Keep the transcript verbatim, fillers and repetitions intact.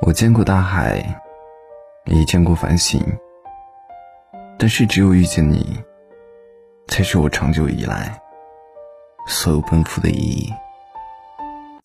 我见过大海，也见过繁星，但是只有遇见你，才是我长久以来所有奔赴的意义。